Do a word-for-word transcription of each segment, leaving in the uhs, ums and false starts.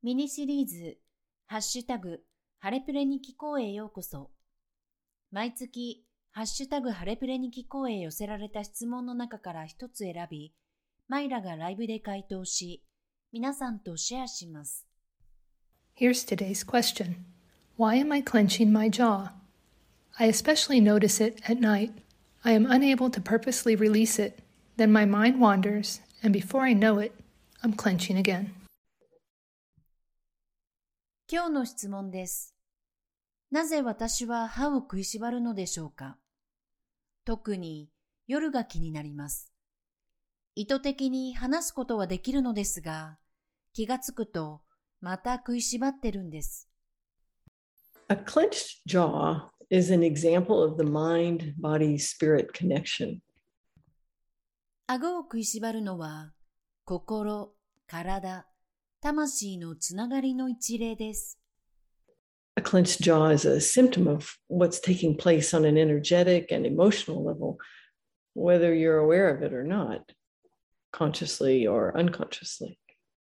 ミニシリーズ、ハッシュタグ、ハレプレに聞こうへようこそ。毎月、ハッシュタグハレプレに聞こうへ寄せられた質問の中から一つ選び、マイラがライブで回答し、皆さんとシェアします。 Here's today's question. Why am I clenching my jaw? I especially notice it at night. I am unable to purposely release it. Then my mind wanders, and before I know it, I'm clenching again. 今日の質問です。なぜ私は歯を食いしばるのでしょうか？特に夜が気になります。意図的に話すことはできるのですが、気がつくとまた食いしばってるんです。 A clenched jaw is an example of the mind-body-spirit connection. 顎を食いしばるのは、心、体、魂のつながりの一例です。 A clenched jaw is a symptom of what's taking place on an energetic and emotional level, whether you're aware of it or not, consciously or unconsciously.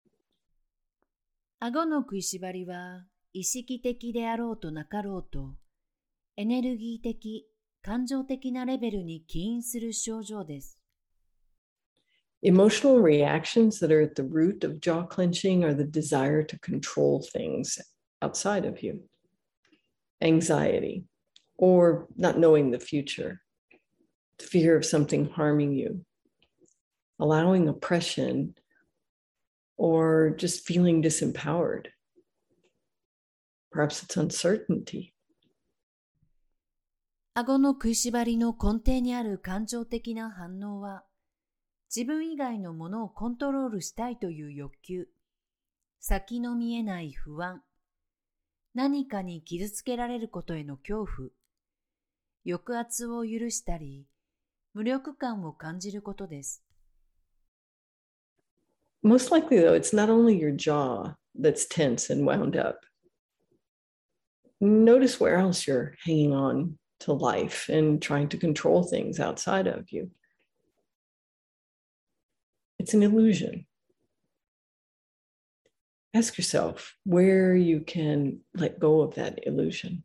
顎の食いしばりは、意識的であろうとなかろうと、エネルギー的、感情的なレベルに起因する症状です。 Emotional reactions that are at the root of jaw clenching are the desire to control things outside of you. Anxiety, or not knowing the future, fear of something harming you, allowing oppression, or just feeling disempowered. Perhaps it's uncertainty. 顎の食いしばりの根底にある感情的な反応は、自分以外のものをコントロールしたいという欲求、先の見えない不安、何かに傷つけられることへの恐怖、抑圧を許したり、無力感を感じることです。 Most likely, though, it's not only your jaw that's tense and wound up. Notice where else you're hanging on to life and trying to control things outside of you. It's an illusion. Ask yourself where you can let go of that illusion.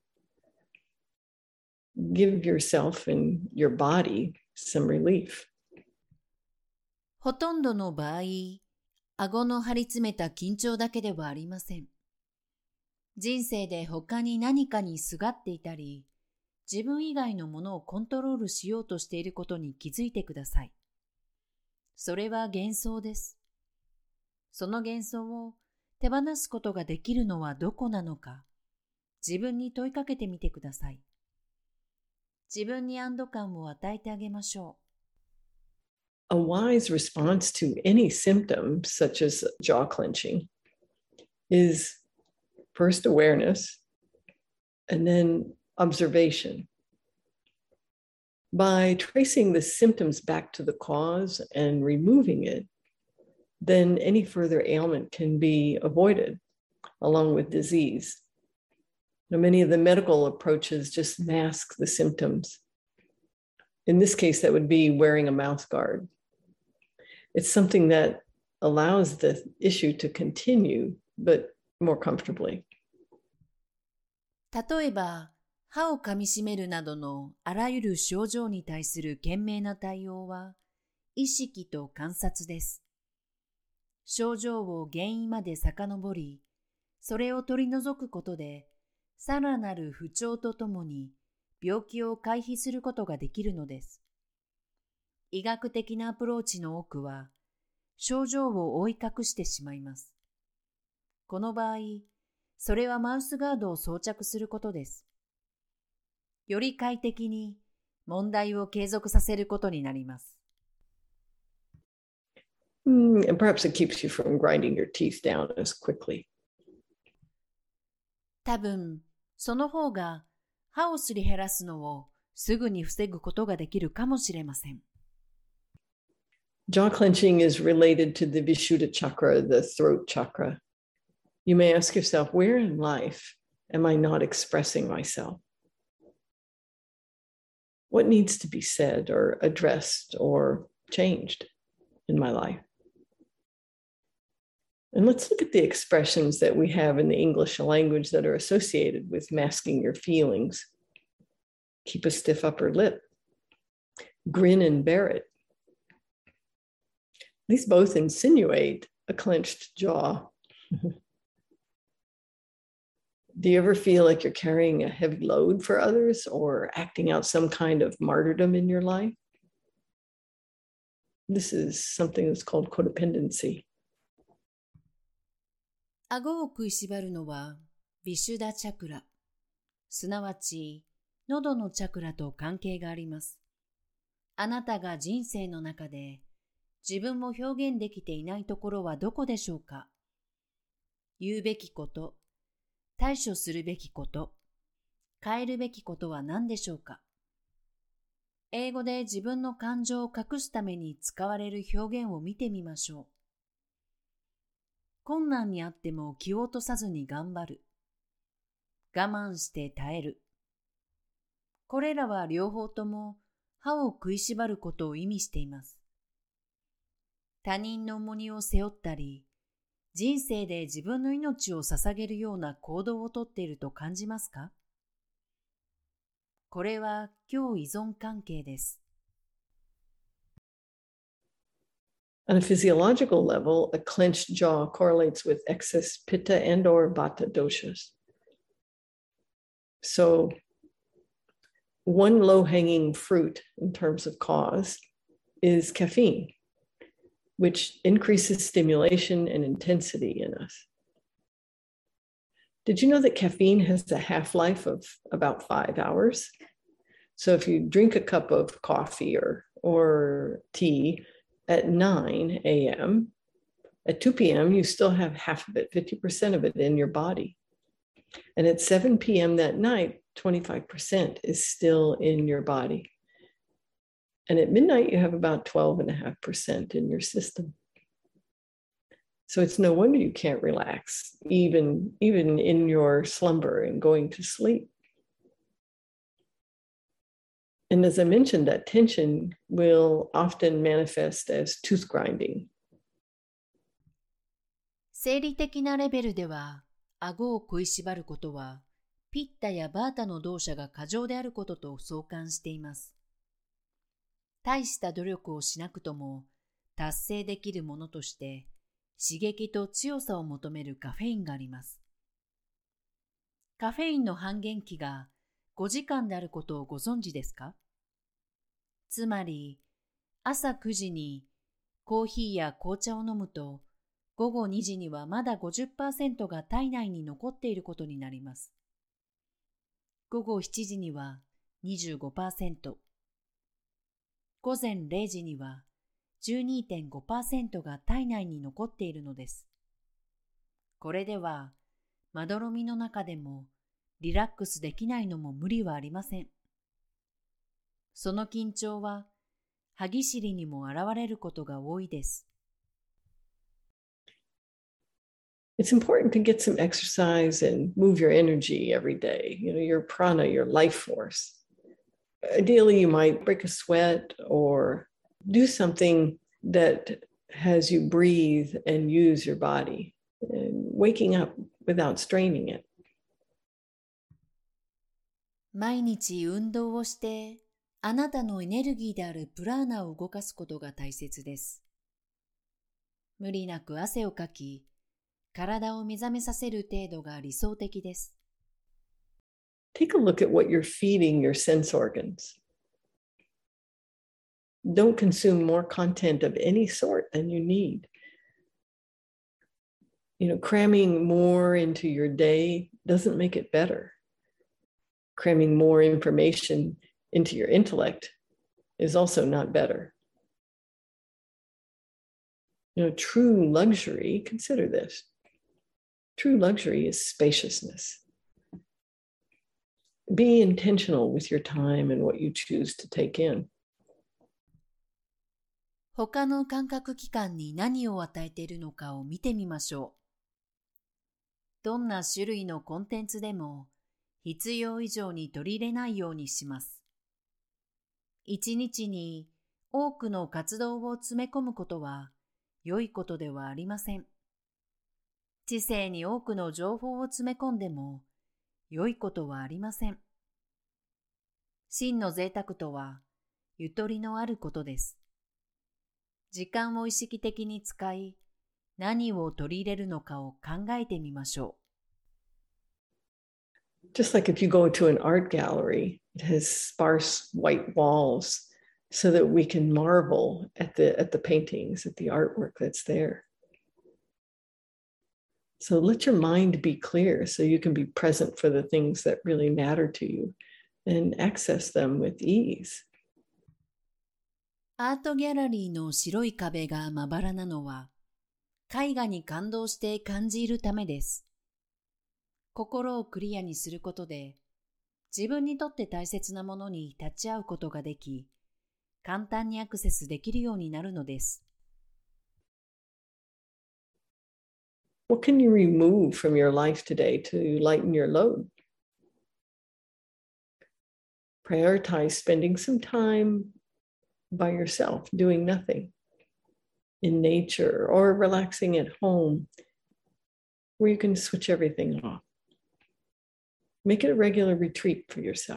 Give yourself and your body some relief. ほとんどの場合、顎の張り詰めた緊張だけではありません。人生で他に何かにすがっていたり、自分以外のものをコントロールしようとしていることに気づいてください。それは幻想です。その幻想を手放すことができるのはどこなのか、自分に問いかけてみてください。自分に安堵感を与えてあげましょう。A wise response to any symptom, such as jaw clenching, is first awareness and then observation. By tracing the symptoms back to the cause and removing it, then any further ailment can be avoided, along with disease. Now, many of the medical approaches just mask the symptoms. In this case, that would be wearing a mouth guard. It's something that allows the issue to continue, but more comfortably. 例えば、歯を噛みしめるなどのあらゆる症状に対する賢明な対応は、意識と観察です。症状を原因まで遡り、それを取り除くことで、さらなる不調とともに病気を回避することができるのです。医学的なアプローチの多くは、症状を覆い隠してしまいます。この場合、それはマウスガードを装着することです。より快適に問題を継続させることになります。 Mm, and perhaps it keeps you from grinding your teeth down as quickly. 多分、その方が歯をすり減らすのをすぐに防ぐことができるかもしれません。 Jaw clenching is related to the Vishuddha chakra, the throat chakra. You may ask yourself, where in life am I not expressing myself? What needs to be said or addressed or changed in my life? And let's look at the expressions that we have in the English language that are associated with masking your feelings. Keep a stiff upper lip. Grin and bear it. These both insinuate a clenched jaw. Do you ever feel like you're carrying a heavy load for others or acting out some kind of martyrdom in your life? This is something that's called codependency. 顎を食いしばるのはビシュダチャクラ、すなわち喉のチャクラと関係があります。あなたが人生の中で自分を表現できていないところはどこでしょうか？言うべきこと、対処するべきこと、変えるべきことは何でしょうか？英語で自分の感情を隠すために使われる表現を見てみましょう。困難にあっても気を落とさずに頑張る。我慢して耐える。これらは両方とも歯を食いしばることを意味しています。他人の重荷を背負ったり、人生で自分の命を捧げるような行動をとっていると感じますか？これは共依存関係です。 On a physiological level, a clenched jaw correlates with excess pitta and or vata doshas. So one low-hanging fruit in terms of cause is caffeine, which increases stimulation and intensity in us. Did you know that caffeine has a half-life of about five hours? So if you drink a cup of coffee or, or tea at nine a.m., at two p.m., you still have half of it, fifty percent of it in your body. And at seven p.m. that night, twenty-five percent is still in your body. And at midnight, you have about twelve point five percent in your system. So it's no wonder you can't relax, even, even in your slumber and going to sleep. And as I mentioned, that tension will often manifest as tooth grinding. 生理的なレベルでは、顎を食いしばることは、ピッタやバータの動作が過剰であることと相関しています。大した努力をしなくとも達成できるものとして刺激と強さを求めるカフェインがあります。カフェインの半減期がごじかんであることをご存知ですか？つまり朝くじにコーヒーや紅茶を飲むと午後にじにはまだ ごじゅっパーセント が体内に残っていることになります。午後しちじには にじゅうごパーセント、午前れいじには じゅうにてんごパーセント が体内に残っているのです。これでは、まどろみの中でもリラックスできないのも無理はありません。その緊張は歯ぎしりにも現れることが多いです。 It's important to get some exercise and move your energy every day, you know, your prana, your life force. Ideally, you might break a sweat or do something that has you breathe and use your body, and waking up without straining it. 毎日運動をして、あなたのエネルギーであるプラーナを動かすことが大切です。無理なく汗をかき、体を目覚めさせる程度が理想的です。 Take a look at what you're feeding your sense organs. Don't consume more content of any sort than you need. You know, cramming more into your day doesn't make it better. Cramming more information into your intellect is also not better. You know, true luxury, consider this. True luxury is spaciousness. Be intentional with your time and what you choose to take in. 他の感覚器官に何を与えているのかを見てみましょう。どんな種類のコンテンツでも必要以上に取り入れないようにします。一日に多くの活動を詰め込むことは良いことではありません。 知性に多くの情報を詰め込んでも良いことはありません。真の贅沢とはゆとりのあることです。時間を意識的に使い、何を取り入れるのかを考えてみましょう。Just like if you go to an art gallery, it has sparse white walls so that we can marvel at the, at the paintings, at the artwork that's there. So let your mind be clear so you can be present for the things that really matter to you and access them with ease. アートギャラリーの白い壁がまばらなのは、絵画に感動して感じるためです。心をクリアにすることで、自分にとって大切なものに立ち会うことができ、簡単にアクセスできるようになるのです。 What can you remove from your life today to lighten your load? Prioritize spending some time by yourself, doing nothing, in nature or relaxing at home, where you can switch everything off. Make it a regular retreat for yourself.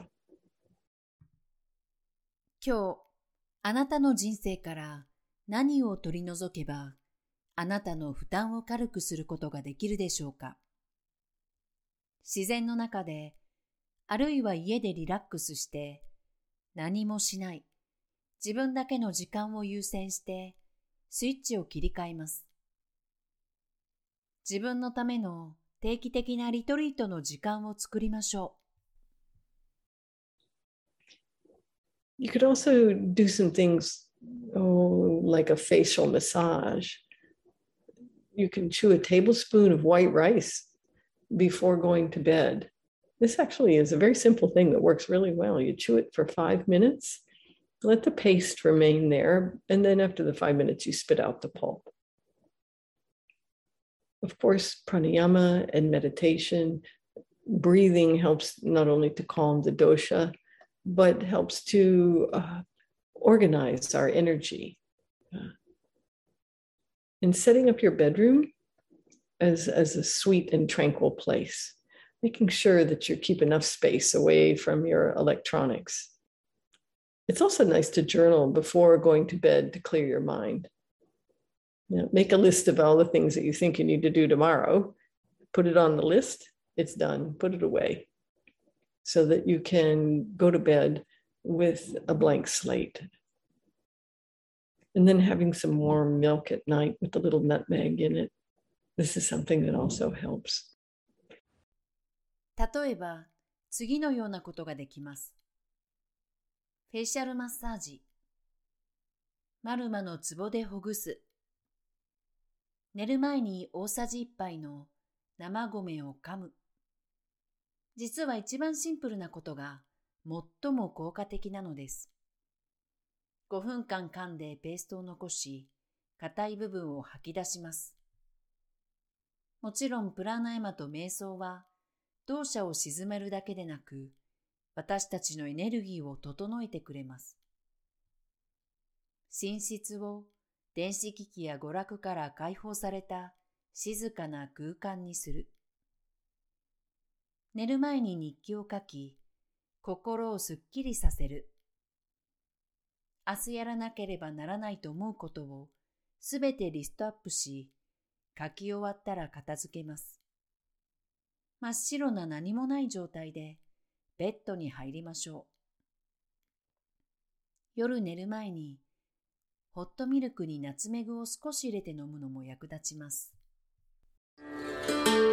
今日、あなたの人生から何を取り除けば、あなたの負担を軽くすることができるでしょうか。自然の中で、あるいは家でリラックスして、何もしない、自分だけの時間を優先して、スイッチを切り替えます。自分のための定期的なリトリートの時間を作りましょう。You could also do some things, oh, like a facial massage. You can chew a tablespoon of white rice before going to bed. This actually is a very simple thing that works really well. You chew it for five minutes, let the paste remain there, and then after the five minutes, you spit out the pulp. Of course, pranayama and meditation, breathing helps not only to calm the dosha, but helps to uh, organize our energy. Uh, and setting up your bedroom as, as a sweet and tranquil place, making sure that you keep enough space away from your electronics. It's also nice to journal before going to bed to clear your mind. You know, make a list of all the things that you think you need to do tomorrow, put it on the list, it's done, put it away, so that you can go to bed with a blank slate. And then having some warm milk at night with a little nutmeg in it. This is something that also helps. 例えば、次のようなことができます。フェイシャルマッサージ。マルマのツボでほぐす。寝る前に大さじいっぱいの生米を噛む。実は一番シンプルなことが最も効果的なのです。ごふんかん噛んでペーストを残し、硬い部分を吐き出します。もちろんプラナヤマと瞑想は動作を鎮めるだけでなく、私たちのエネルギーを整えてくれます。寝室を電子機器や娯楽から解放された静かな空間にする。寝る前に日記を書き、心をすっきりさせる。明日やらなければならないと思うことをすべてリストアップし、書き終わったら片付けます。真っ白な何もない状態でベッドに入りましょう。夜寝る前にホットミルクにナツメグを少し入れて飲むのも役立ちます。